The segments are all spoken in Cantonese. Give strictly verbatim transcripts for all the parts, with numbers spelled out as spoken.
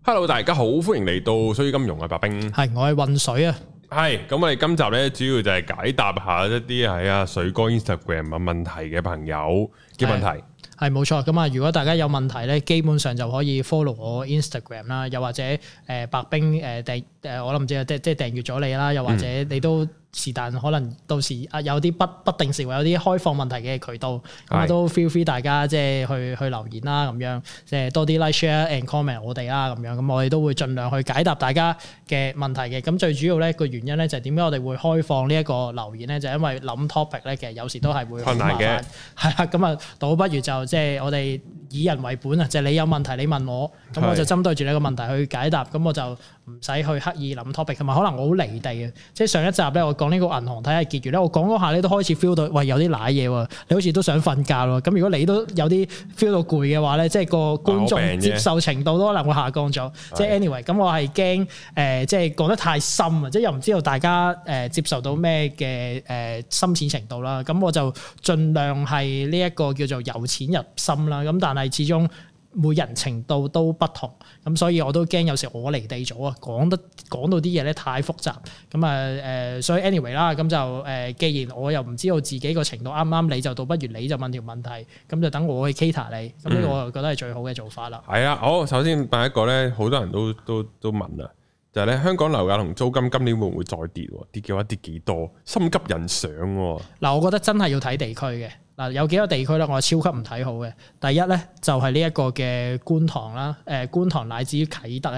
Hello， 大家好，歡迎嚟到水與金融啊，白兵係我係渾水啊， 係咁我哋今集咧主要就係解答下一啲喺啊水哥 Instagram 嘅問題嘅朋友嘅問題。 係冇錯，咁啊如果大家有問題咧，基本上就可以 follow 我 Instagram 啦，又或者誒、呃、白兵誒訂誒我都唔知啊，即即係訂閱咗你啦，又或者你都。嗯是但可能到時啊有啲不不定時會有啲開放問題嘅渠道，咁啊都 feel free 大家即係去去留言啦，咁樣即係多啲 like share and comment 我哋啦，咁樣咁我哋都會盡量去解答大家嘅問題嘅。咁最主要咧個原因咧就係點解我哋會開放呢一個留言咧，就係、因為諗 topic 咧其實有時都係會好麻煩嘅，係啦，咁啊倒不如就即係我哋以人為本啊，就係、你有問題你問我，咁我就針對住你個問題去解答，咁我就唔使去刻意諗 topic，同埋可能我好離地嘅，即係上一集咧我講呢個銀行體系結餘咧，我講嗰下咧都開始 feel 到，喂有啲瀨嘢喎，你好似都想瞓覺咯。咁如果你都有啲 feel 到攰嘅話咧，即係個觀眾接受程度都可能會下降咗。即係 anyway，咁我係驚誒，即係講得太深啊，即係又唔知道大家誒接受到咩嘅誒深淺程度啦。咁我就盡量係呢一個叫做由淺入深啦。咁但係始終每人程度都不同，咁所以我都驚有時我離地咗啊，講得講到啲嘢咧太複雜，咁啊誒，所以 anyway 啦，咁就誒，既然我又唔知道自己個程度啱唔啱你，就倒不如你就問條問題，咁就等我去 cater 你，咁呢個我就覺得係最好嘅做法啦。係啊、 嗯，好，首先第一個咧，好多人都都都問啊，就係咧香港樓價同租金今年會唔會再跌？跌嘅話跌幾多？心急人上喎。嗱， 我覺得真係要睇地區嘅。嗱，有幾個地區咧，我係超級唔睇好嘅。第一咧就係呢一個嘅觀塘啦，誒觀塘乃至於啟德啊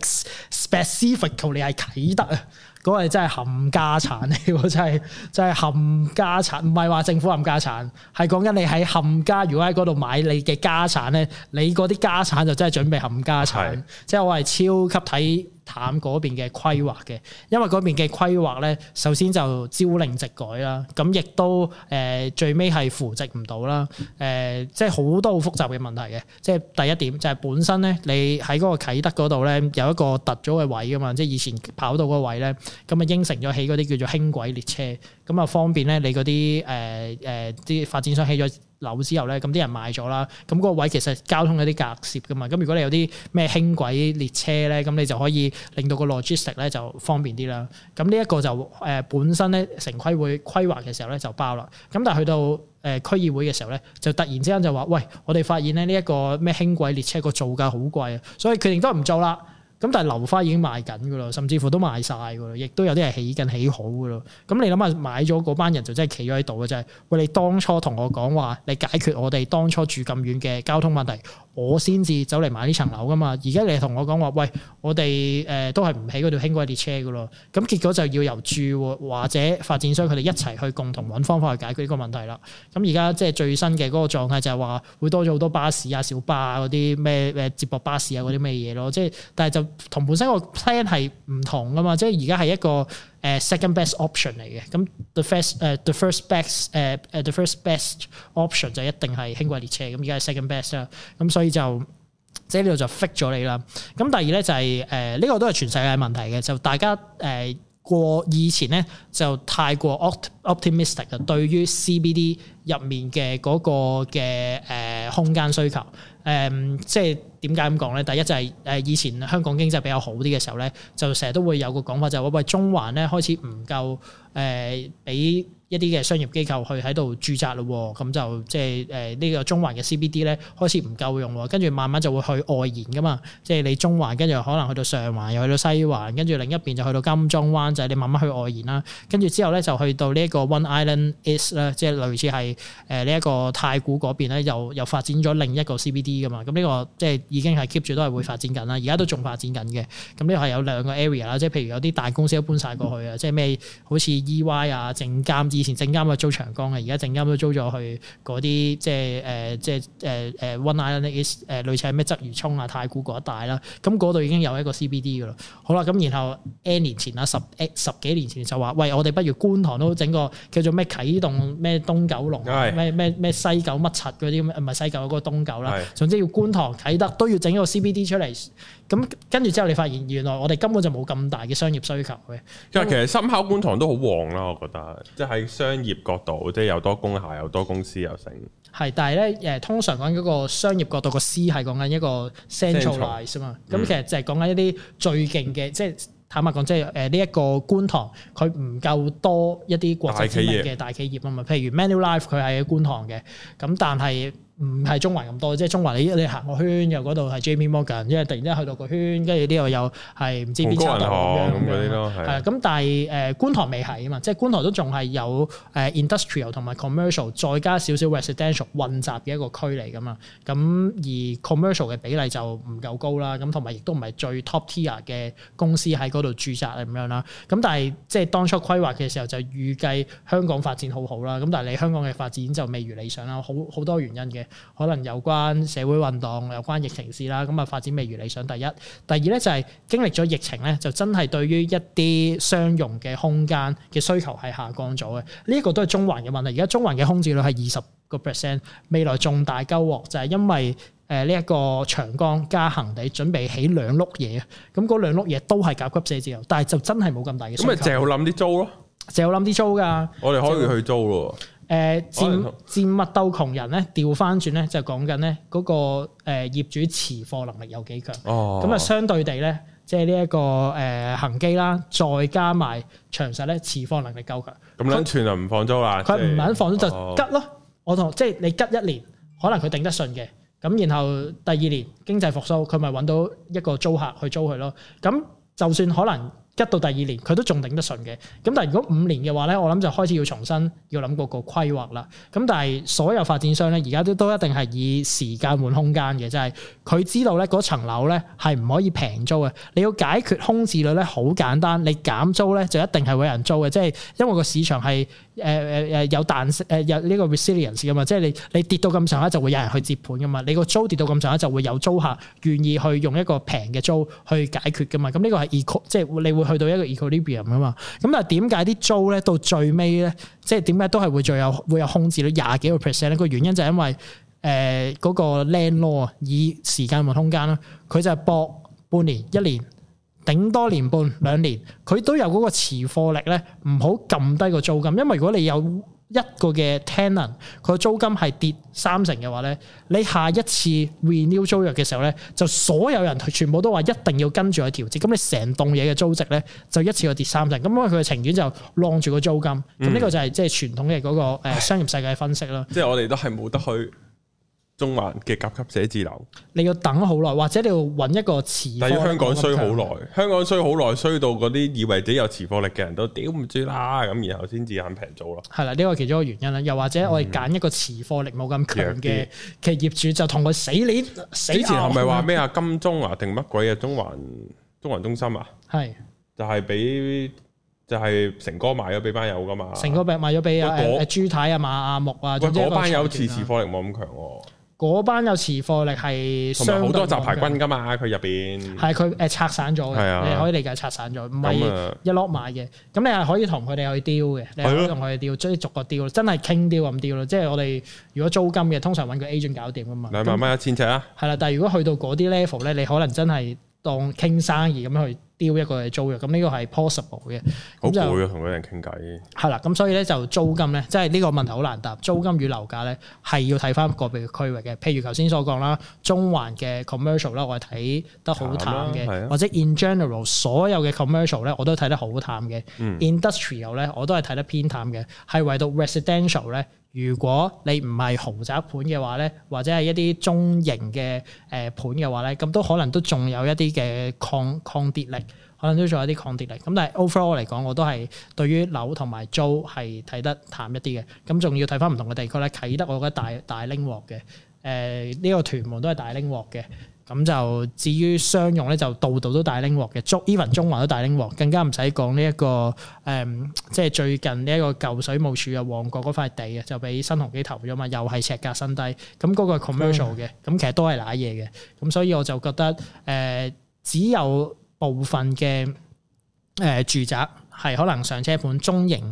，specifically 係啟德啊，嗰個真係冚家產嚟喎，真係真係冚家產，唔係話政府冚家產，係講緊你喺冚家，如果喺嗰度買你嘅家產咧，你嗰啲家產就真係準備冚家產，是即係我係超級睇淡嗰邊嘅規劃嘅，因為嗰邊嘅規劃咧，首先就朝令夕改啦，咁亦都誒、呃、最尾係扶植唔到啦，誒、呃、即係好多好複雜嘅問題嘅，即係第一點就係、是、本身咧，你喺嗰個啟德嗰度咧有一個突咗嘅位噶嘛，即係以前跑道嗰個位咧，咁啊應承咗起嗰啲叫做輕軌列車，咁啊方便咧你嗰啲誒誒啲發展商起咗樓之後咧，咁啲人買咗啦，咁嗰個位其實交通有啲隔涉噶嘛，咁如果你有啲咩輕軌列車咧，咁你就可以令到個 logistic 咧就方便啲啦。咁呢一個就誒本身咧城規會規劃嘅時候咧就包啦，咁但係去到誒區議會嘅時候咧，就突然之間就話喂，我哋發現咧呢一個咩輕軌列車個造價好貴啊，所以決定都唔做啦。咁但係樓花已經賣緊噶啦，甚至乎都賣晒噶啦，亦都有啲係起緊起好噶啦。咁你諗下買咗嗰班人就真係企咗喺度嘅啫。喂，你當初同我講話，你解決我哋當初住咁遠嘅交通問題，我先至走嚟買呢層樓噶嘛。而家你同我講話，喂，我哋誒、呃、都係唔起嗰條輕軌列車噶咯。咁結果就要由住戶或者發展商佢哋一齊去共同揾方法去解決呢個問題啦。咁而家即係最新嘅嗰個狀態就係話會多咗好多巴士啊、小巴啊嗰啲咩誒接駁巴士啊嗰啲咩嘢咯。即係但係就同本身個 plan 係唔同噶嘛，即係而家係一個誒 second best option 嚟嘅。咁 the first 誒 the first best 誒誒 the first best option 就一定係輕軌列車。咁而家係 second best 啦。咁所以就即係呢度就 fix 咗你啦。咁第二咧就係誒呢個都係全世界問題嘅，就大家誒、呃、過以前咧就太過 optimistic 啊，對於 C B D 入面嘅嗰個嘅誒、呃、空間需求。誒、嗯，即係點解咁講咧？第一就係誒以前香港經濟比較好啲嘅時候咧，就成日都會有個講法就係、是、話喂，中環咧開始唔夠誒俾一啲嘅商業機構去喺度駐紮咯，咁就即係誒呢個中環嘅 C B D 咧開始唔夠用，跟住慢慢就會去外延噶嘛。即係你中環跟住可能去到上環，又去到西環，跟住另一邊就去到金鐘灣，就係、是、你慢慢去外延啦。跟住之後咧就去到呢一個 One Island East 啦，即係類似係誒呢一個太古嗰邊咧，又又發展咗另一個 C B D。噶嘛，咁呢個即係已經係 keep 住都係會發展緊啦，而家都仲發展緊嘅。咁呢個係有兩個 area 啦，即係譬如有啲大公司都搬晒過去啊，即係咩好似 E Y 啊、證監，以前證監啊租長江嘅，而家證監都租咗去嗰啲即係誒、呃、即係誒誒 One Island East 誒類似係咩鰂魚涌啊、太古嗰一帶啦。咁嗰度已經有一個 C B D 噶啦。好啦，咁然後 N 年前啦，十誒十幾年前就話喂，我哋不如觀塘都整個叫做咩啟動咩東九龍咩咩咩西九乜柒嗰啲，唔係西九嗰個東九啦。總之要觀塘啟德都要整一個 C B D 出嚟， 咁跟住之後你發現原來我哋根本就冇咁大嘅商業需求嘅。 因為其實深烤觀塘都好旺啦，我覺得，即係喺商業角度，即係又多工廈，又多公司又成。係， 但係咧誒，通常講嗰個商業角度個 C 係講緊一個 centralize 啊嘛。咁、嗯、其實就係講緊一啲最勁嘅，即係坦白講，即係誒呢一個觀塘佢唔夠多一啲國際知名嘅大企業啊嘛。譬如 Manulife 佢係喺觀塘嘅，咁但係唔係中環咁多，即係中環你你行個圈又嗰度係 J P Morgan，因為突然之間去到個圈，跟住呢度又係唔知邊差度咁樣咁樣咯。係啊，咁但係誒觀塘未係啊嘛，即係觀塘都仲係有誒 industrial 同埋 commercial， 再加少少 residential 混雜嘅一個區嚟噶嘛。咁而 commercial 嘅比例就唔夠高啦，咁同埋亦都唔係最 top tier 嘅公司喺嗰度駐紮咁樣啦。咁但係即係當初規劃嘅時候就預計香港發展好好啦。咁但係你香港嘅發展就未如理想啦，好好多原因嘅。可能有關社會運動、有關疫情事啦，咁啊發展未如理想。第一，第二咧就係經歷咗疫情咧，就真係對於一啲商用嘅空間嘅需求係下降咗嘅。呢一個都係中環嘅問題。而家中環嘅空置率係二十個 percent， 未來重大鳩鑊就係因為誒呢一個長江加恒地準備起兩碌嘢，咁嗰兩碌嘢都係甲級寫字樓，但係就真係冇咁大嘅需求。咁咪淨係諗啲租咯， 淨係諗啲租㗎。我哋可以去租咯。誒賤賤物鬥窮人咧，調翻轉咧就講緊咧嗰個誒業主持貨能力有幾強。哦，咁啊相對地咧，即係呢一個誒恆基啦，再加埋長實咧，持貨能力夠強。咁撚串就唔放租啦。佢唔肯放租就吉咯。哦、我同即係你吉一年，可能佢頂得順嘅。咁然後第二年經濟復甦，佢咪揾到一個租客去租佢咯。咁就算可能吉到第二年，佢都仲頂得順嘅。咁但係如果五年嘅話咧，我諗就開始要重新要諗嗰個規劃啦。咁但係所有發展商咧，而家都都一定係以時間換空間嘅，就係、是、佢知道咧嗰層樓咧係唔可以平租嘅。你要解決空置率咧，好簡單，你減租咧就一定係會有人租嘅，即係因為個市場係誒誒誒有彈性誒有呢個 resilience 噶嘛，即係你你跌到咁上下就會有人去接盤噶嘛，你個租跌到咁上下就會有租客願意去用一個平嘅租去解決噶嘛。咁呢個係 eco 即係你會去到一個 equilibrium 啊嘛。咁但係點解啲租咧到最尾咧，即係點解都係會最有會有空置率廿幾個 percent 咧？個原因就係因為誒嗰、呃那個 landlord 啊，以時間換空間啦，佢就係搏半年一年。頂多年半兩年，佢都有嗰個持貨力咧，唔好撳低個租金。因為如果你有一個嘅 tenant，佢個租金係跌三成嘅話咧，你下一次 renew 租約嘅時候咧，就所有人全部都話一定要跟住去調節，咁你成棟嘢嘅租值咧就一次過跌三成。咁因為佢嘅情願就晾住個租金。咁呢、嗯、個就係即係傳統嘅嗰個誒商業世界分析啦。即係我哋都係冇得去中環嘅甲級寫字樓，你要等好耐，或者你要揾一個持貨。但係香港衰好耐，香港衰好耐，衰到嗰啲以為自己有持貨力嘅人都屌唔住啦，咁然後先至肯平租咯。係啦，呢個其中一個原因啦。又或者我哋揀一個持貨力冇咁強嘅嘅業主，就同佢死鏈死。之前係咪話咩啊？金鐘啊，定乜鬼啊？中環中環中心啊？係是就係俾就係成哥賣咗俾班友噶嘛？成哥賣咗俾啊誒朱太啊、馬阿木啊，喂嗰班友持持貨力冇咁強喎。嗰班有持貨力係同埋好多雜牌軍噶嘛，佢入邊係佢誒拆散咗嘅，啊、你可以理解拆散咗，唔係一攞買嘅。咁你係可以同佢哋去雕嘅，你可以同佢哋雕，即係逐個雕，真係傾雕咁雕咯。即係我哋如果租金嘅，通常揾個 agent 搞掂噶嘛。兩萬蚊一千尺啊！係啦，但係如果去到嗰啲 level 咧，你可能真係當傾生意咁樣去丟一個嘅租約，咁呢個係 possible 嘅。好攰啊，同嗰啲人傾偈。係啦，咁所以咧就租金咧，即係呢個問題好難答。租金與樓價咧係要睇翻個別嘅區域嘅。譬如頭先所講啦，中環嘅 commercial 啦，我係睇得好淡嘅，或者 in general 所有嘅 commercial 咧，我都睇得好淡嘅。嗯、industrial 咧，我都係睇得偏淡嘅。係唯獨 residential 咧。如果你唔係豪宅盤嘅話咧，或者係一啲中型嘅誒盤嘅話咧，咁都可能都仲有一啲嘅抗抗跌力，可能都仲有啲抗跌力。咁但係 overall 嚟講，我都係對於樓同埋租係睇得淡一啲嘅。咁仲要睇翻唔同嘅地區咧，啟德我覺得大大拎鑊嘅，誒、呃、呢、這個屯門都係大拎鑊嘅。咁就至於商用咧，就度度都大拎鑊嘅，中 even 中環都大拎鑊，更加唔使講呢一個誒、嗯，即係最近呢一個舊水務署啊，旺角嗰塊地啊，就俾新鴻基投咗嘛，又係尺價新低，咁嗰個係 commercial 嘅，咁、嗯、其實都係瀨嘢嘅，咁所以我就覺得誒、呃，只有部分嘅誒、呃、住宅係可能上車盤中型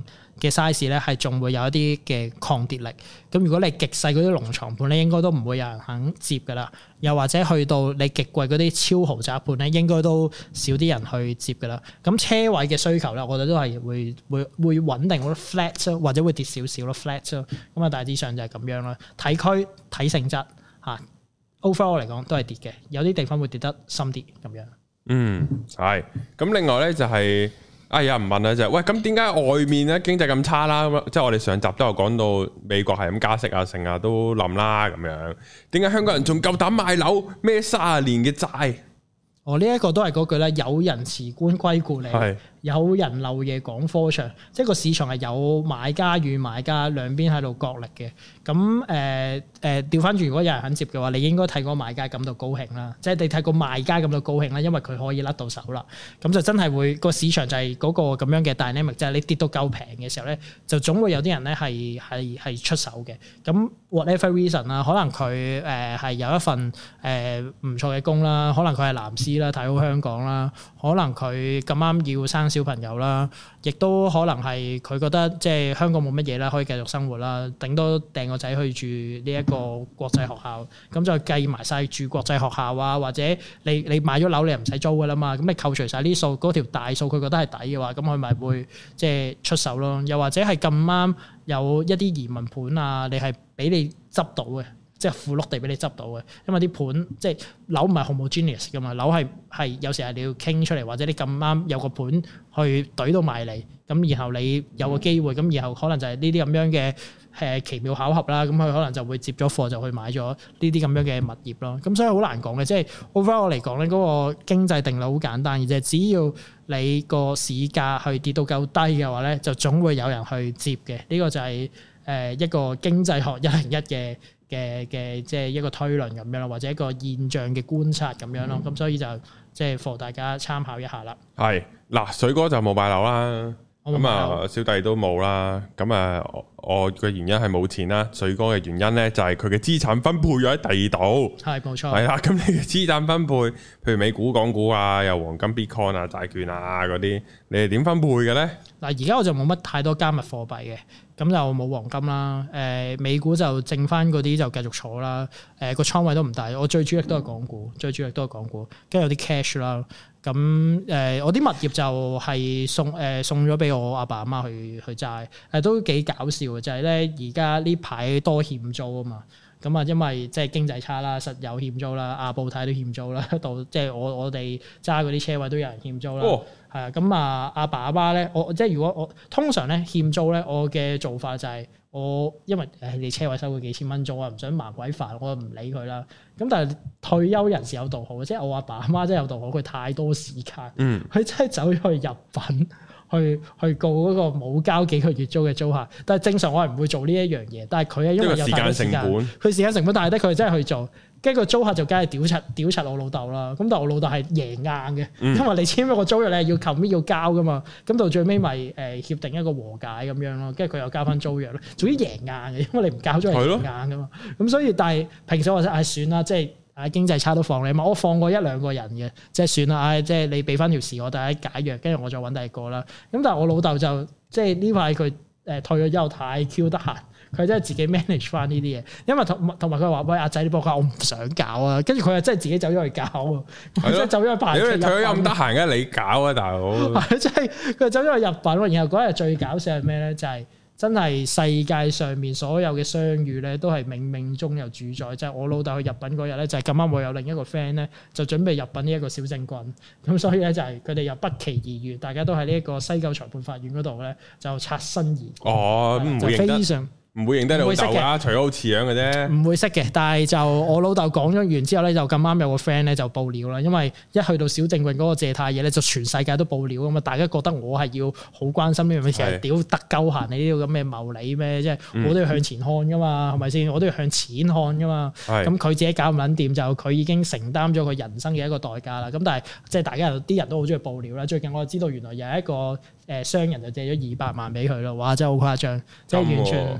嘅 size 咧，係仲會有一啲嘅抗跌力。咁如果你極細嗰啲龍床盤咧，應該都唔會有人肯接噶啦。又或者去到你極貴嗰啲超豪宅盤咧，應該都少啲人去接噶啦。咁車位嘅需求咧，我覺得都係會會會穩定或者 flat 或者會跌少少咯 flat 咯。咁啊大致上就係咁樣啦。睇區睇性質嚇 overall 嚟講都係跌嘅，有啲地方會跌得深啲咁樣。嗯， 係。咁另外咧就係、是。啊！有人問啊，就係喂，咁點解外面咧經濟咁差啦？咁即係我哋上集都有講到美國係咁加息啊，成日都冧啦咁樣。點解香港人仲夠膽買樓孭三十年嘅債？ 我呢一個都係嗰句啦，有人辭官歸故里，是有人漏夜趕科場，即係個市場係有買家與買家兩邊喺度角力嘅。咁誒誒調翻轉，如果有人肯接嘅話，你應該睇個買家感到高興啦，即係你睇個賣家感到高興啦，因為佢可以甩到手啦。咁就真係會個市場就係嗰個咁樣嘅 dynamic，就係你跌到夠平嘅時候咧，就總會有啲人咧係係係出手嘅。咁 whatever reason 啦，可能佢誒係有一份誒唔錯嘅工啦，可能佢係藍絲啦，睇好香港啦，可能佢咁啱要生小朋友啦，亦都可能係佢覺得即係香港冇乜嘢啦，可以繼續生活啦，頂多掟個仔去住呢一個國際學校，咁就計埋晒住國際學校啊，或者你你買咗樓你又唔使租噶啦嘛，咁你扣除晒呢數嗰條大數，佢覺得係抵嘅話，咁佢咪會即係出手咯，又或者係咁啱有一啲移民盤啊，你係俾你執到嘅。即係富碌地俾你執到嘅，因為啲盤即係樓唔係 homogeneous 噶嘛，樓係係有時係你要傾出嚟，或者你咁啱有個盤去懟到埋嚟，咁然後你有個機會，咁然後可能就係呢啲咁樣嘅誒奇妙巧合啦，咁佢可能就會接咗貨就去買咗呢啲咁樣嘅物業咯。咁所以好難講嘅，即係 overall 嚟講咧，嗰個經濟定律好簡單，而就係只要你個市價去跌到夠低嘅話咧，就總會有人去接嘅。呢個就係誒一個經濟學一零一嘅。嘅嘅即係一個推論咁樣咯，或者一個現象嘅觀察咁樣咯，咁、嗯、所以就即係 for 大家參考一下啦。係嗱，水哥就冇買樓啦，咁啊小弟都冇啦，咁啊我嘅原因係冇錢啦，水哥嘅原因咧就係佢嘅資產分配咗喺第二度。係冇錯。係啦，咁你嘅資產分配，譬如美股、港股啊，又黃金、Bitcoin 啊、債券啊嗰啲，你係點分配嘅咧？嗱，而家我就冇乜太多加密貨幣嘅。咁就冇黃金啦，誒、呃、美股就剩翻嗰啲就繼續坐啦，誒、呃、個倉位都唔大，我最主力都係港股，最主力都係港股，跟住有啲 cash 啦，咁誒、呃、我啲物業就係送誒、呃、送咗俾我阿爸阿媽去去揸，誒、呃、都幾搞笑嘅，就係咧而家呢排多欠租啊嘛。咁啊，因為即係經濟差啦，實有欠租啦，亞布泰都欠租啦，到即係我我哋揸嗰啲車位都有人欠租啦。係啊、哦，咁啊，阿爸阿媽咧，我即係如果我通常咧欠租咧，我嘅做法就係我因為誒你車位收佢幾千蚊租啊，唔想麻鬼煩，我唔理佢啦。咁但係退休人士有道好，即係我阿爸阿媽真係有道好，佢太多時間，佢、嗯、真係走咗去入稟。去去告嗰個冇交幾個月租嘅租客，但係正常我係唔會做呢一樣嘢，但係佢係因為有太多時間，佢時間成本大得，佢真係去做，跟住個租客就梗係屌柒屌柒我老豆啦。咁但係我老豆係贏硬嘅，嗯、因為你簽咗個租約你係要求咩要交噶嘛，咁到最尾咪誒協定一個和解咁樣咯，跟住佢又交翻租約咯，總之贏硬嘅，因為你唔交租係贏硬噶嘛。咁的所以但係平時我就唉算啦，即係。啊經濟差都放你嘛，我放過一兩個人嘅，即係算啦，唉，即係你俾翻條時我大家解約，跟住我再揾第二個啦。咁但係我老豆就即係呢排佢誒退咗之後太 Q 得閒，佢真係自己 manage 翻呢啲嘢，因為同同埋佢話喂阿仔，你幫我，我唔想搞啊，跟住佢又真係自己走咗去搞啊，即係的走咗去排。如果你退咗咁得閒嘅，你搞啊大佬。係即係佢走咗去入稟，然後嗰日最搞笑係咩咧？就係、是。真係世界上面所有嘅相遇咧，都係冥冥中有主宰。即係我老豆去入稟嗰日咧，就係咁啱我有另一個 friend 咧，就準備入稟呢一個小政棍。咁所以咧就係佢哋又不期而遇，大家都喺呢一個西九裁判法院嗰度咧就擦身而過。哦，唔會非常。唔會認得你老豆啦，除咗好似樣嘅啫。唔會識嘅，但係就我老豆講咗完之後咧，就咁啱有個 friend 咧就報料啦。因為一去到小政棍嗰個借貸嘢咧，就全世界都報料啊嘛。大家覺得我係要好關心呢樣嘢，其實屌得鳩閒你呢啲咁嘅謀利咩？即係我都要向前看噶嘛，係咪先？我都要向錢看噶嘛。咁佢是自己搞唔撚掂，就佢已經承擔咗佢人生嘅一個代價啦。咁但係即係大家啲人都好中意報料啦。最近我就知道原來有一個誒商人就借咗二百萬俾佢咯。哇！真係好誇張，即係完全。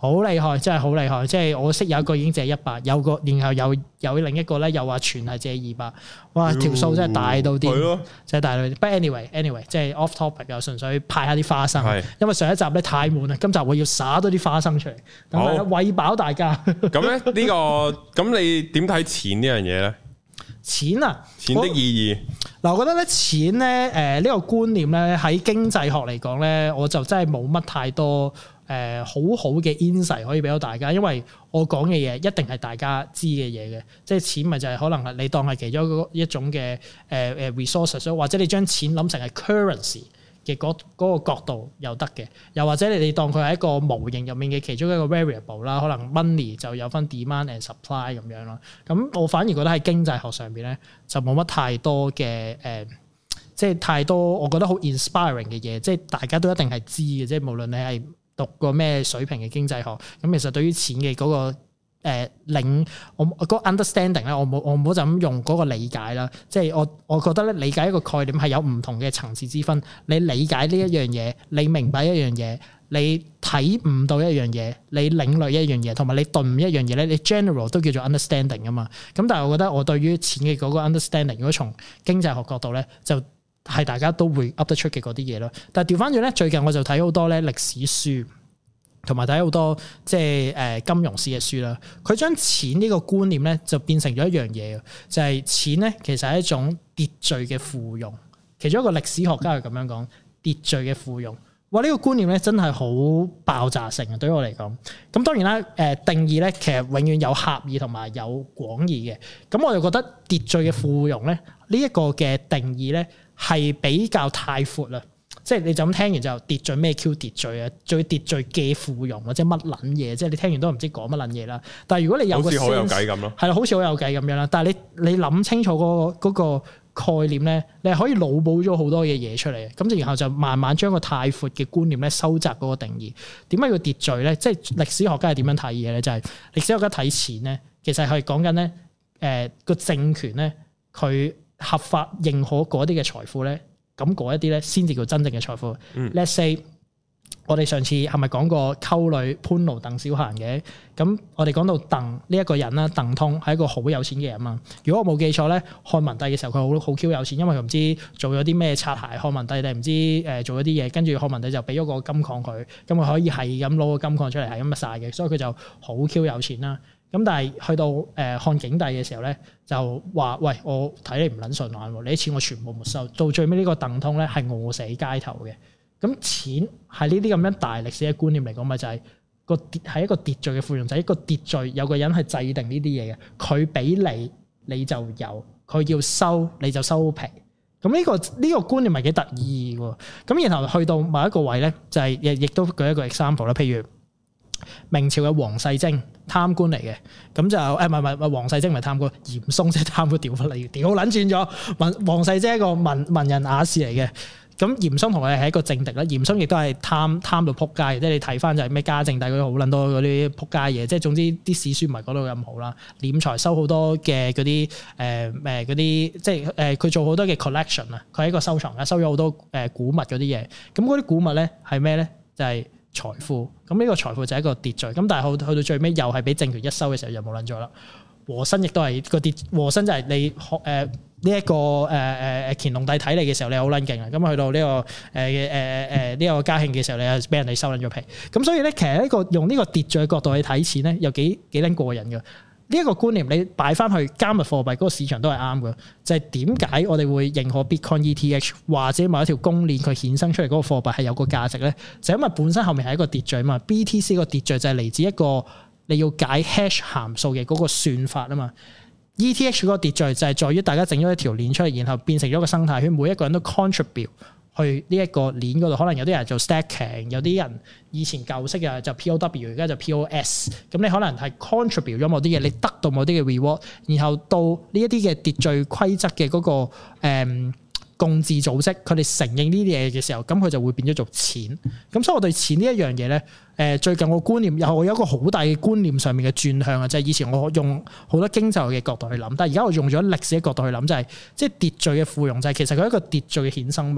好厲害，真係好厲害！即係我識有一個已經借一百，有個然後有有另一個咧又話全係借二百，哇！條數真係大到啲， 係真係大到啲。But anyway anyway，即係 off topic 又純粹派下啲花生，因為上一集咧太悶啦，今集我要灑多啲花生出嚟，咁係啦，餵飽大家。咁咧呢個咁你點睇錢呢樣嘢咧？錢啊，錢的意義嗱，我覺得咧錢咧誒呢個觀念咧喺經濟學嚟講咧，我就真係冇乜太多。誒、呃、好好嘅 insight 可以俾到大家，因為我講嘅嘢一定係大家知嘅嘢嘅，即係錢咪就係可能係你當係其中一種嘅誒誒 resources，或者你將錢諗成係 currency 嘅嗰嗰個角度又得嘅，又或者你哋當佢係一個模型入面嘅其中一個 variable 啦，可能 money 就有分 demand and supply 咁樣咯。咁我反而覺得喺經濟學上邊咧就冇乜太多嘅誒、呃，即係太多我覺得好 inspiring 嘅嘢，即係大家都一定係知嘅，即係無論你係讀過咩水平嘅經濟學，咁其實對於錢嘅嗰個誒領，我嗰個 understanding 咧，我冇我唔好就咁用嗰個理解啦。即係我我覺得咧，理解一個概念係有唔同嘅層次之分。你理解呢一樣嘢，你明白一樣嘢，你睇唔到一樣嘢，你領略一樣嘢，同埋你頓悟一樣嘢咧，你 general 都叫做 understanding 啊嘛。咁但係我覺得我對於錢嘅嗰個 understanding，如果從經濟學角度咧，就係大家都會噏得出嘅嗰啲嘢咯，但係調翻轉咧，最近我就睇好多咧歷史書，同埋睇好多即係誒金融史嘅書啦。佢將錢呢個觀念咧就變成咗一樣嘢，就係錢咧其實係一種秩序嘅附庸。其中一個歷史學家係咁樣講，秩序嘅附庸。哇！呢個觀念咧真係好爆炸性啊！對於我嚟講，咁當然啦，誒定義咧其實永遠有狹義同埋有廣義嘅。咁我就覺得秩序嘅附庸咧呢一個嘅定義咧係比較太闊啦。即係你就咁聽完就秩序咩 Q 秩序啊，最秩序嘅附庸或者乜撚嘢，即係你聽完都唔知講乜撚嘢啦。但係如果你有個 sense，好似好有計咁咯，係啦，好似好有計咁樣啦。但係你你諗清楚嗰個嗰個概念咧，你係可以腦補咗好多嘅嘢出嚟嘅，咁然後就慢慢將個太闊嘅觀念咧收窄嗰個定義。點解要秩序咧？即係歷史學家係點樣睇嘢咧？就係、是、歷史學家睇錢咧，其實係講緊咧，誒、呃、個政權咧，佢合法認可嗰啲嘅財富咧，咁嗰一啲咧先至叫真正嘅財富。嗯、Let's say 我哋上次係咪講過溝女潘奴鄧小閒嘅？咁我哋講到鄧呢一個人啦，鄧通係一個好有錢嘅人嘛。如果我冇記錯咧，漢文帝嘅時候佢好好 Q 有錢，因為佢唔知做咗啲咩擦鞋，漢文帝定唔知誒做咗啲嘢，跟住漢文帝就俾咗個金礦佢，咁佢可以係咁攞個金礦出嚟係咁乜晒嘅，所以佢就好 Q 有錢啦。咁但係去到誒漢景帝嘅時候咧，就話喂，我睇你唔撚順眼喎，你啲錢我全部沒收。到最尾呢個鄧通咧係餓死街頭嘅。咁錢係呢啲咁樣大歷史嘅觀念嚟講，咪就係個秩係一個秩序嘅附庸，就係、是、一個秩序，有個人係制定呢啲嘢嘅，佢俾你你就有，佢要收你就收皮。咁呢、這個呢、這個觀念咪幾得意喎？咁然後去到某一個位咧，就係亦亦都舉一個 example 啦，譬如明朝嘅王世貞貪官嚟嘅，咁就誒唔係唔係王世貞唔係貪官，嚴嵩即係貪官調翻嚟，調撚轉咗。王王世貞係一個文文人雅士嚟嘅。咁嚴嵩同佢係一個政敵啦，嚴嵩亦都係貪貪到撲街，即係你睇翻就係咩嘉靖帝嗰啲好撚多嗰啲撲街嘢，即係總之啲史書唔係講到咁好啦。斂財收好多嘅嗰啲誒誒嗰啲，即係誒佢做好多嘅 collection 啊，佢係一個收藏家，收咗好多誒古物嗰啲嘢。咁嗰啲古物咧係咩咧？就係、是、財富。咁呢個財富就係一個秩序。咁但係去去到最尾又係俾政權一收嘅時候就冇撚咗啦。和珅亦都係個秩，和珅就係你學誒呢一個誒誒誒乾隆帝睇你嘅時候，你好撚勁啊！咁去到呢、這個誒誒誒呢個嘉慶嘅時候，你又俾人哋收撚咗皮。咁所以咧，其實呢個用呢個秩序嘅角度去睇錢咧，又幾幾撚過癮嘅。呢、這、一個觀念你擺翻去加密貨幣嗰個市場都係啱嘅。就係點解我哋會認可 Bitcoin E T H 或者某一條公鏈佢衍生出嚟嗰個貨幣係有個價值咧？就因為本身後面係一個秩序啊嘛。B T C 個秩序就係嚟自一個你要解 hash 函數嘅嗰個算法啊嘛。E T H 嗰個秩序就係在於大家整咗一條鏈出嚟，然後變成咗個生態圈，每一個人都 contribute 去呢一個鏈嗰度。可能有啲人做 stacking， 有啲人以前舊式嘅就 P O W， 而家就 P O S。咁你可能係 contribute 咗某啲嘢，你得到某啲嘅 reward， 然後到呢一啲嘅秩序規則嘅嗰個誒、嗯共治組織，佢哋承認呢啲嘢嘅時候，咁佢就會變咗做錢。咁所以我對錢呢一樣嘢咧，誒最近我觀念又我有一個好大嘅觀念上面嘅轉向啊，就係、是、以前我用好多經濟學嘅角度去諗，但係而家我用咗歷史嘅角度去諗，就係即係秩序嘅附庸，就係其實佢係一個秩序嘅衍生物。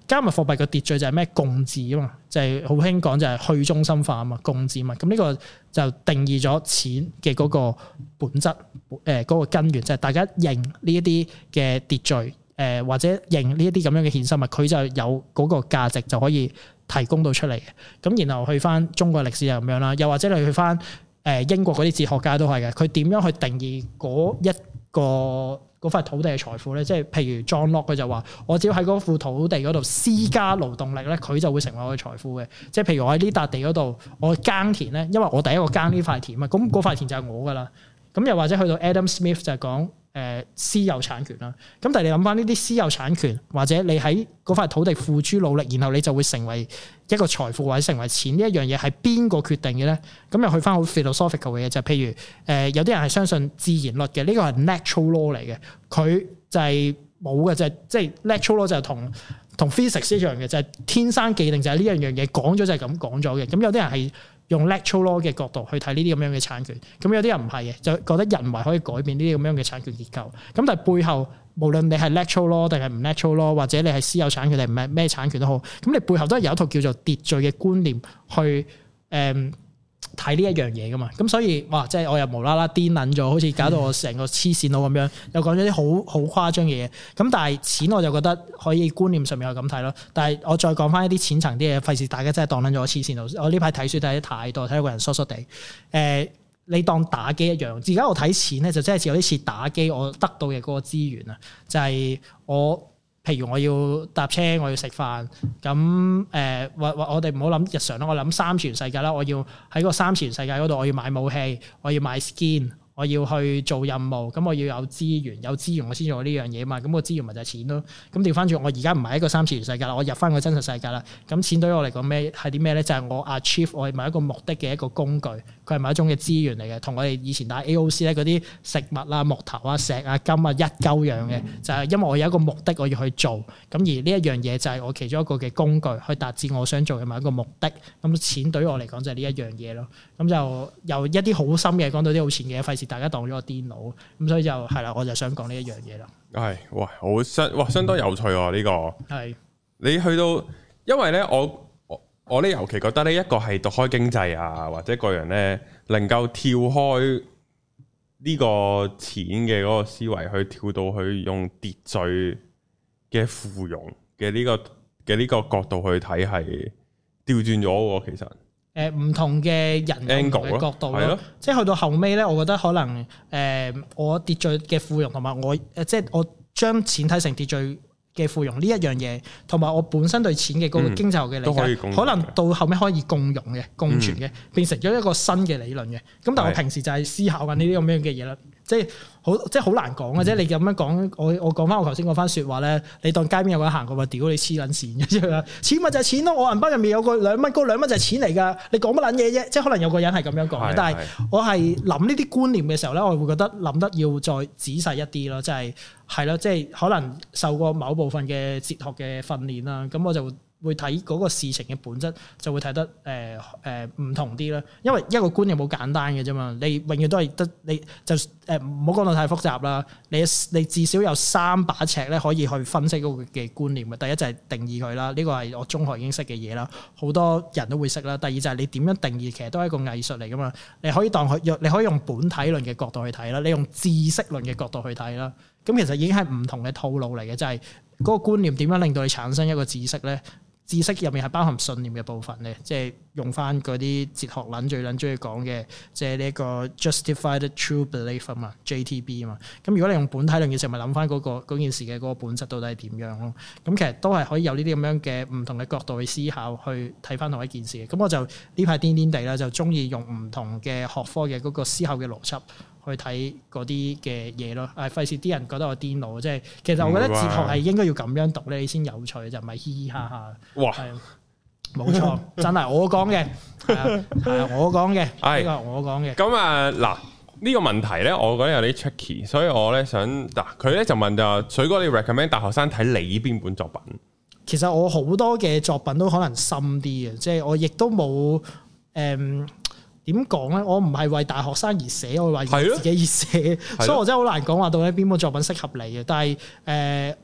加密貨幣個秩序就係咩共治啊嘛，就係好興講就係去中心化啊嘛，共治嘛。咁呢個就定義咗錢嘅嗰個本質，誒、呃、嗰、嗰個根源就係、是、大家認呢一啲嘅秩序，誒、呃、或者認呢一啲咁樣嘅衍生物，佢就有嗰個價值就可以提供到出嚟嘅。咁然後去翻中國歷史就咁樣啦，又或者你去翻誒英國嗰啲哲學家都係嘅，佢點樣去定義嗰一個嗰塊土地嘅財富咧？即係譬如 John Locke 佢就話：我只要喺嗰副土地嗰度施加勞動力咧，佢就會成為我嘅財富嘅。即係譬如我喺呢笪地嗰度，我耕田咧，因為我第一個耕呢塊田啊，咁嗰塊田就係我噶啦。咁又或者去到 Adam Smith 就係講誒私有產權啦。咁但係你諗翻呢啲私有產權，或者你喺嗰塊土地付諸努力，然後你就會成為一個財富或者成為錢，呢一樣嘢係邊個決定嘅咧？咁又去翻好 philosophical 嘅嘢，就係譬如誒有啲人係相信自然律嘅，呢個係 natural law 嚟嘅，佢就係冇嘅，就係即係 natural law 就係同同 physics 一樣嘅，就係天生既定，就係呢樣樣嘢講咗就係咁講咗嘅。咁有啲人係用 natural law 嘅角度去睇呢啲咁樣嘅產權，咁有啲人唔係嘅，就覺得人為可以改變呢啲咁樣嘅產權結構。咁但係背後無論你係 natural law 定係唔 natural law，或者你係私有產權定唔係咩產權都好，咁你背後都係有一套叫做秩序嘅觀念去誒睇呢一樣嘢噶嘛。咁所以哇，即係我又無啦啦癲撚咗，好似搞到我成個黐線佬咁樣，又講咗啲好好誇張嘅嘢。咁但係錢我就覺得可以觀念上面係咁睇咯。但係我再講翻一啲淺層啲嘢，費事大家真係當撚咗我黐線佬。我呢排睇書睇得太多，睇到個人疏疏地。誒、呃，你當打機一樣。而家我睇錢咧，就真係有啲似打機，我得到嘅嗰個資源啊，就係、是、我。譬如我要搭車，我要食飯，咁誒或或我哋唔好諗日常啦，我諗三次元世界啦，我要喺個三次元世界嗰度，我要買武器，我要買 skin，我要去做任務，咁我要有資源，有資源我先做呢樣嘢嘛，咁個資源咪就係錢咯。咁調翻轉，我而家唔係一個三次元世界啦，我入翻個真實世界啦。咁錢對於我嚟講咩係啲咩咧？就係、是、我 achieve 我係某一個目的嘅一個工具，佢係某一種嘅資源嚟嘅，同我哋以前打 A O C 咧嗰啲食物啊、木頭啊、石啊、金啊一鳩樣嘅，就係、是、因為我有一個目的我要去做，咁而呢一樣嘢就係我其中一個嘅工具，去達至我想做嘅某一個目的。咁錢對於我嚟講就係呢一樣嘢咯。咁就由一啲好深嘅講到啲好淺嘅，費事大家當咗個癲佬。咁所以就係啦，我就想講呢一樣嘢啦。係， 哇，好相哇，相當有趣喎、啊、呢、這個。係是你去到，因為咧，我我我咧尤其覺得呢一個係讀開經濟啊，或者個人咧能夠跳開呢個錢嘅嗰個思維，去跳到去用秩序嘅附庸嘅呢個嘅呢個角度去睇，係調轉咗喎，其實。 誒唔、呃、同嘅人嘅角度咯，即係去到後尾咧，我覺得可能誒、呃、我秩序嘅附庸同埋我誒、呃、即係我將錢睇成秩序嘅附庸呢一樣嘢，同埋我本身對錢嘅嗰個經濟學嘅理解，嗯、可，可能到後尾可以共融嘅、共存嘅，嗯、變成咗一個新嘅理論嘅。咁但係我平時就係思考緊呢啲咁樣嘅嘢啦。即係好，即係好難講嘅啫。嗯、你咁樣講，我我講翻我頭先嗰番説話咧，你當街邊有個人行過話，屌你黐撚線嘅，即係錢咪就係錢咯。我銀包入面有個兩蚊，嗰兩蚊就係錢嚟㗎。你講乜撚嘢啫？即係可能有個人係咁樣講嘅，是是但係我係諗呢啲觀念嘅時候咧，我會覺得諗得要再仔細一啲咯。即係係咯，即係可能受過某部分嘅哲學嘅訓練啦，咁我就會睇嗰個事情嘅本質，就會睇得誒誒唔同啲啦。因為一個觀念好簡單嘅啫嘛，你永遠都係得你就誒唔好講到太複雜啦。你你至少有三把尺咧，可以去分析嗰個嘅觀念嘅。第一就係定義佢啦，呢個係我中學已經識嘅嘢啦，好多人都會識啦。第二就係你點樣定義，其實都係一個藝術嚟噶嘛。你可以當佢用，你可以用本體論嘅角度去睇啦，你用知識論嘅角度去睇啦。咁其實已經係唔同嘅套路嚟嘅，就係嗰個觀念點樣令到你產生一個知識咧？知識入面係包含信念嘅部分咧，即係用翻嗰啲哲學撚最撚中意講嘅，即係呢一個 justified true belief 啊嘛 ，J T B 啊嘛。咁如果你用本體論嘅時候，咪諗翻嗰個嗰件事嘅嗰個本質到底係點樣咯？咁其實都係可以有呢啲咁樣嘅唔同嘅角度去思考，去睇翻同一件事嘅。咁我就呢排癲癲地啦，就中意用唔同嘅學科嘅嗰個思考嘅邏輯去睇嗰啲嘅嘢咯。誒，費事啲人覺得我癲佬，即係其實我覺得哲學係應該要咁樣讀咧，你先有趣，就唔係嘻嘻哈哈。哇！係冇錯，真係我講嘅，係啊，係啊，我講嘅，呢個係我講嘅。咁啊，嗱，呢個問題咧，我覺得有啲 tricky，所以我咧想嗱，佢咧就問就水哥，你 recommend 大學生睇你邊本作品？其實我好多嘅作品都可能深啲嘅，即係我亦都冇誒。點講咧？我唔係為大學生而寫，我係為自己而寫，的所以我真係好難講話到底邊本作品適合你嘅。但係誒、呃，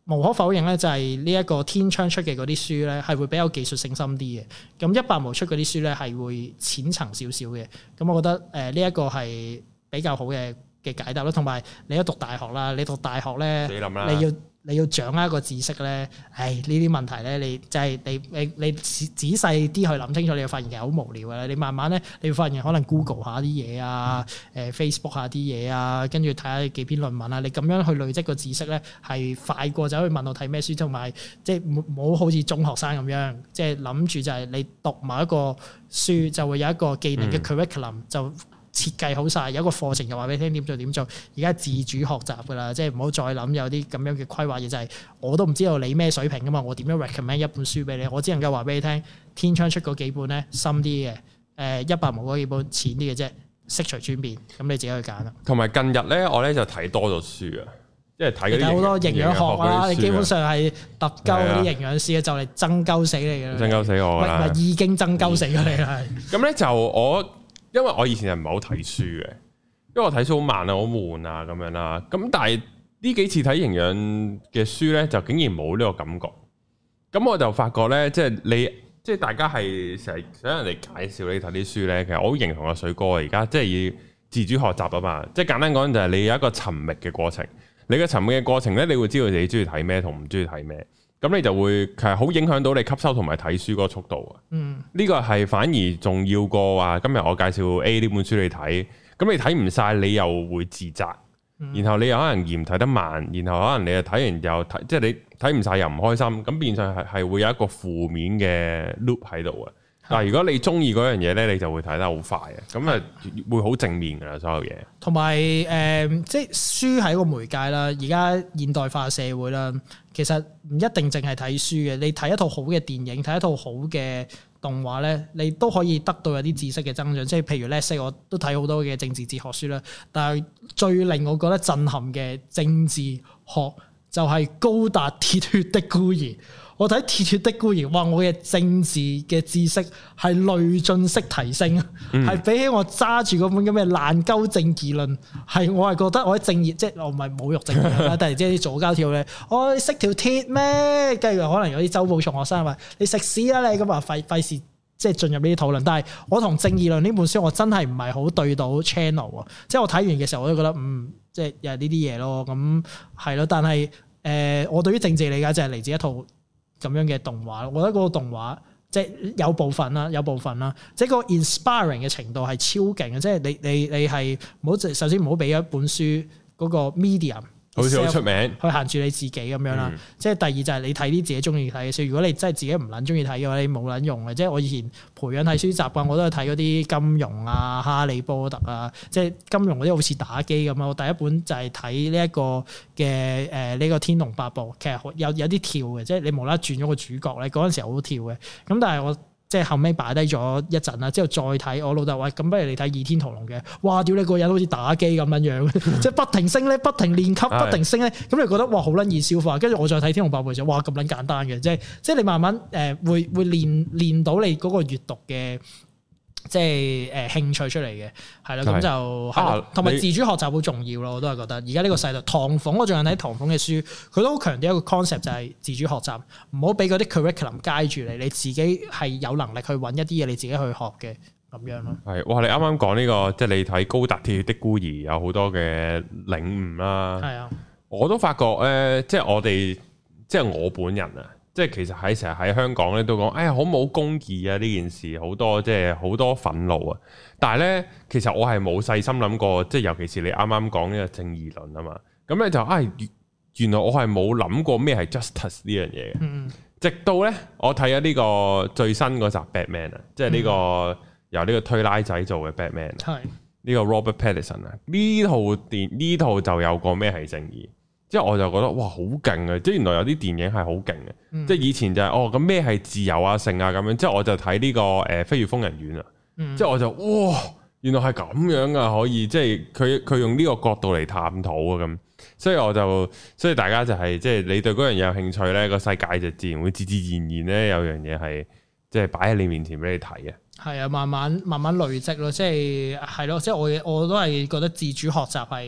無可否認咧，就係呢一個天窗出嘅嗰啲書咧，係會比較技術性深啲嘅。咁一百毛出嗰啲書咧，係會淺層少少嘅。咁我覺得誒呢一個係比較好嘅嘅解答咯。同埋你一讀大學啦，你讀大學咧，你要你要掌握一個知識咧，唉呢啲問題咧，你就係你你你仔細啲去諗清楚，你會發現其實好無聊嘅。你慢慢咧，你會發現可能 Google 下啲嘢啊，誒 Facebook 下啲嘢啊，跟住睇下幾篇論文啊，你咁樣去累積個知識咧，係快過走去問我睇咩書，同埋即係唔好好似中學生咁樣，即係諗住就係你讀某一個書就會有一個技能嘅 curriculum、嗯、就。設計好晒，有一個課程就話俾你聽點做點做。而家自主學習噶啦，即係唔好再諗有啲咁樣嘅規劃嘢，就係、是、我都唔知道你咩水平噶嘛，我點樣 recommend 一本書俾你？我只能夠話俾你聽，天窗出嗰幾本咧深啲嘅，誒一百毛嗰幾本淺啲嘅啫，悉隨尊便，咁你自己去揀啦。同埋近日咧，我咧就睇多咗書啊，即係睇嗰啲好多營養學啊，你基本上係揼鳩嗰啲營養師啊，就嚟爭鳩死你嘅， 爭鳩死我啦， 唔係已經爭鳩死咗你啦。 咁咧就我。因為我以前係唔係好睇書嘅，因為我睇書好慢啊，好悶啊咁樣啦。咁但係呢幾次睇營養嘅書咧，就竟然冇呢個感覺。咁我就發覺咧，即係你，即係大家係成日想人哋介紹你睇啲書咧，其實我好認同阿水哥啊。而家即係要自主學習啊嘛。即係簡單講就係你有一個尋覓嘅過程。你嘅尋覓嘅過程咧，你會知道自己中意睇咩同唔中意睇咩。咁你就會其實好影響到你吸收同埋睇書嗰個速度啊！嗯，呢個係反而重要過話今日我介紹 A 呢本書你睇，咁你睇唔晒你又會自責，嗯、然後你又可能嫌睇得慢，然後可能你又睇完又睇，即係你睇唔晒又唔開心，咁變相係係會有一個負面嘅 loop 喺度啊！但係如果你中意嗰樣嘢咧，你就會睇得好快啊！咁啊會好正面噶啦，所有嘢。同埋誒，即係書係一個媒介啦。而家現代化社會啦，其實唔一定淨係睇書嘅。你睇一套好嘅電影，睇一套好嘅動畫咧，你都可以得到有啲知識嘅增長。即係譬如咧，識我都睇好多嘅政治哲學書啦。但係最令我覺得震撼嘅政治學就係高達鐵血的孤兒。我睇鐵血的孤兒，哇！我嘅政治嘅知識係累進式提升，係、嗯、比起我揸住嗰本咁嘅爛鳩政義論，係我係覺得我喺正義，即係我唔係侮辱政義啦，但係即係啲左膠跳咧，我識條鐵咩？跟住可能有啲周報從學生話：你食屎啦你！咁啊費費事即係進入呢啲討論。但係我同正義論呢本書，我真係唔係好對到 channel 啊！即係我睇完嘅時候，我都覺得嗯，即係又係呢啲嘢咯。咁係咯，但係誒、呃，我對於政治理解就係嚟自一套咁樣嘅動畫，我覺得嗰個動畫即係有部分啦，有部分啦，即係個 inspiring 嘅程度係超勁嘅，即係你你你係唔好首先唔好俾一本書嗰個 medium 好似好出名去限住你自己咁樣啦。嗯、即係第二就係你睇啲自己中意睇嘅書。如果你真係自己唔撚中意睇嘅話，你冇撚用嘅。即係我以前培養睇書習慣，我都係睇嗰啲金庸啊、哈利波特啊。即係金庸嗰啲好似打機咁啊。我第一本就係睇呢一個嘅誒呢個《天龍八部》，其實有有啲跳嘅，即係你無啦啦轉咗個主角咧，嗰陣時好跳嘅。咁但係我即係後尾擺低咗一陣啦，之後再睇我老豆話：咁不如你睇《倚天屠龍》嘅。哇！屌你個人好似打機咁樣樣，即係不停升咧，不停練級，不停升咧。咁你覺得哇好撚易消化，跟住我再睇《天龍八部》就哇咁撚簡單嘅，即係即係你慢慢誒、呃、會會練練到你嗰個閱讀嘅。即係誒、呃、興趣出嚟嘅，係啦，咁就係同埋自主學習好重要咯，我都係覺得。而家呢個世代，唐鳳我最近睇唐鳳嘅書，佢都好強調一個 concept 就係自主學習，唔好俾嗰啲 curriculum guide住你，你自己係有能力去揾一啲嘢你自己去學嘅咁樣咯。係，哇！你啱啱講呢個，即係你睇高達鐵血的孤兒有好多嘅領悟啦。係啊，我都發覺咧，即係我哋，即係我本人啊。即係其實喺成日喺香港咧都講，哎呀好冇公義啊！呢件事好多即係好多憤怒啊！但係咧，其實我係冇細心諗過，即係尤其是你啱啱講呢個正義論啊嘛。咁咧就啊、哎，原來我係冇諗過咩係 justice 呢樣嘢嘅。嗯、直到咧我睇咗呢個最新嗰集 Batman 啊，即係呢個由呢個推拉仔做嘅 Batman，係呢個 Robert Pattinson 啊。呢套電呢套就有個咩係正義。即係我就覺得哇好勁啊！即係原來有啲電影係好勁嘅，嗯、即係以前就係、是、哦咁咩係自由啊性啊咁樣，即係我就睇呢、這個誒、呃《飛越瘋人院》啊，嗯、即係我就哇原來係咁樣啊，可以即係佢佢用呢個角度嚟探討啊咁，所以我就所以大家就係、是、即係你對嗰樣嘢有興趣咧，個世界就自然會自自然然咧有樣嘢係即係擺喺你面前俾你睇啊。係啊，慢慢慢慢累積咯，即係係咯，即係我我都係覺得自主學習係。好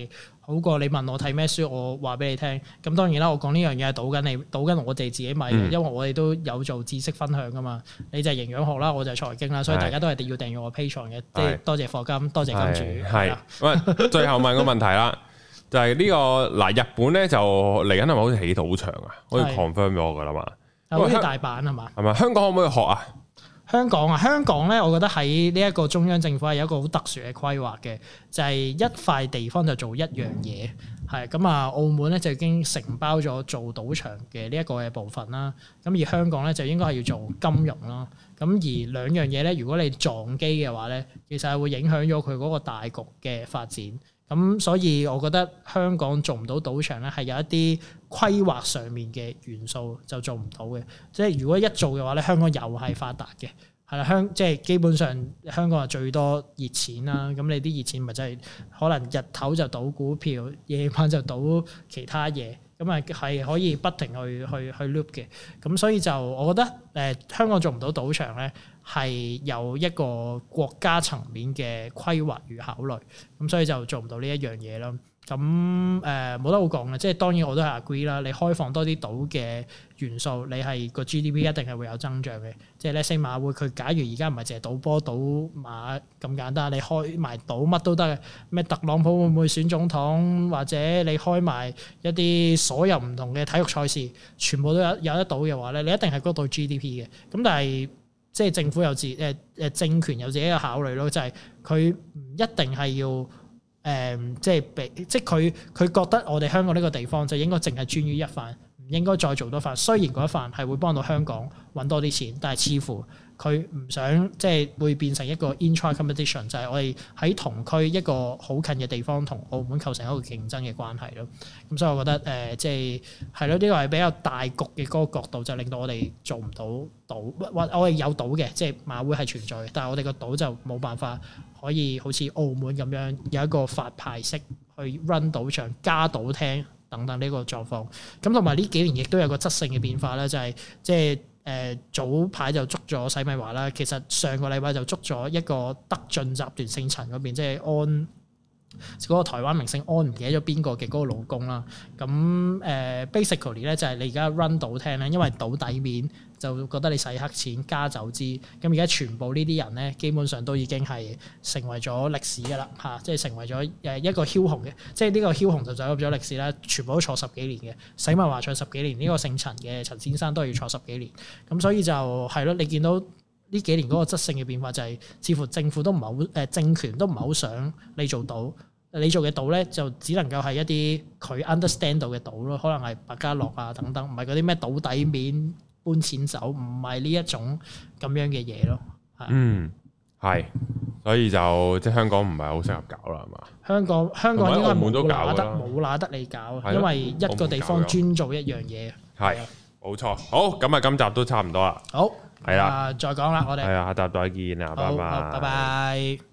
好過你問我睇咩書，我話俾你聽。咁當然啦，我講呢樣嘢係賭緊你，賭緊我哋自己米嘅，嗯、因為我哋都有做知識分享噶嘛。你就係營養學啦，我就係財經啦，所以大家都係要訂閱我 Patreon 嘅。即係多謝課金，多謝金主。係， 喂，最後問個問題啦，就係呢個嗱，日本咧就嚟緊係咪好似起賭場啊？好似 confirm 咗噶啦嘛？ 好似大阪係嘛？ 係咪香港可唔可以學啊？ 香港啊，香港咧，我覺得喺呢一個中央政府係有一個好特殊嘅規劃嘅，就係一塊地方就做一樣嘢，係咁啊。澳門咧就已經承包咗做賭場嘅呢一個嘅部分啦，咁而香港咧就應該係要做金融啦。咁而兩樣嘢咧，如果你撞機嘅話咧，其實係會影響咗佢嗰個大局嘅發展。咁所以我覺得香港做唔到賭場咧，係有一啲規劃上面嘅元素就做唔到嘅。即係如果一做嘅話咧，香港又係發達嘅，係啦，香即係基本上香港係最多熱錢啦。咁你啲熱錢咪真係可能日頭就賭股票，夜晚就賭其他嘢。咁啊，係可以不停去去去 loop 嘅，咁所以就我覺得誒、呃、香港做唔到賭場咧，係有一個國家層面嘅規劃與考慮，咁所以就做唔到呢一樣嘢啦。咁誒冇得好講嘅，即係當然我都係 agree 啦。你開放多啲賭嘅元素，你係個 G D P 一定係會有增長嘅。即係咧，星馬會佢假如而家唔係淨係賭波賭馬咁簡單，你開埋賭乜都得嘅。咩特朗普會唔會選總統，或者你開埋一啲所有唔同嘅體育賽事，全部都有有得賭嘅話咧，你一定係嗰度 G D P 嘅。咁但係即係政府有自誒誒政權有自己嘅考慮咯，就係佢唔一定係要。誒、嗯，即係俾，即係佢佢覺得我哋香港呢個地方就應該淨係專於一範，唔應該再做多範。雖然嗰一範係會幫到香港揾多啲錢，但係似乎佢唔想即係會變成一個 intra competition，就係我哋喺同區一個好近嘅地方同澳門構成一個競爭嘅關係咯。咁所以我覺得誒、呃，即係係咯，呢個係比較大局嘅嗰個角度，就令到我哋做唔到賭，或我哋有賭嘅，即係馬會係存在嘅，但係我哋個賭就冇辦法。可以好似澳門咁樣有一個發牌式去 run 賭場、加賭廳等等呢個狀況。咁同埋呢幾年亦都有個質性嘅變化咧，就係即係誒早排就捉咗洗米華啦。其實上個禮拜就捉咗一個德進集團姓陳嗰邊，即係安嗰個台灣明星安唔記得咗邊個嘅嗰個老公啦。咁誒 basically 咧就係你而家 run 賭廳咧，因為賭底面。就覺得你洗黑錢加走資，咁而家全部呢啲人咧，基本上都已經係成為咗歷史㗎啦嚇，即係成為咗誒一個梟雄嘅，即係呢個梟雄就走入咗歷史啦，全部都坐十幾年嘅，洗米華坐十幾年，呢、這個姓陳嘅陳先生都要坐十幾年，咁所以就係咯，你見到呢幾年嗰個質性嘅變化就係、是，似乎政府都唔係好誒政權都唔係好想你做到，你做嘅賭咧就只能夠係一啲佢 understand 到嘅賭咯，可能係百家樂啊等等，唔係嗰啲咩賭底面。搬錢走唔係呢一種咁樣嘅嘢咯， 嗯，係，所以就即係香港唔係好適合搞啦，係嘛？香港香港應該冇拿得冇拿得你搞，因為一個地方專做一樣嘢。係，冇錯。好，咁啊，今集都差唔多啦。好，係啦，再講啦，我哋係啊，下集再見啊，拜拜，拜拜。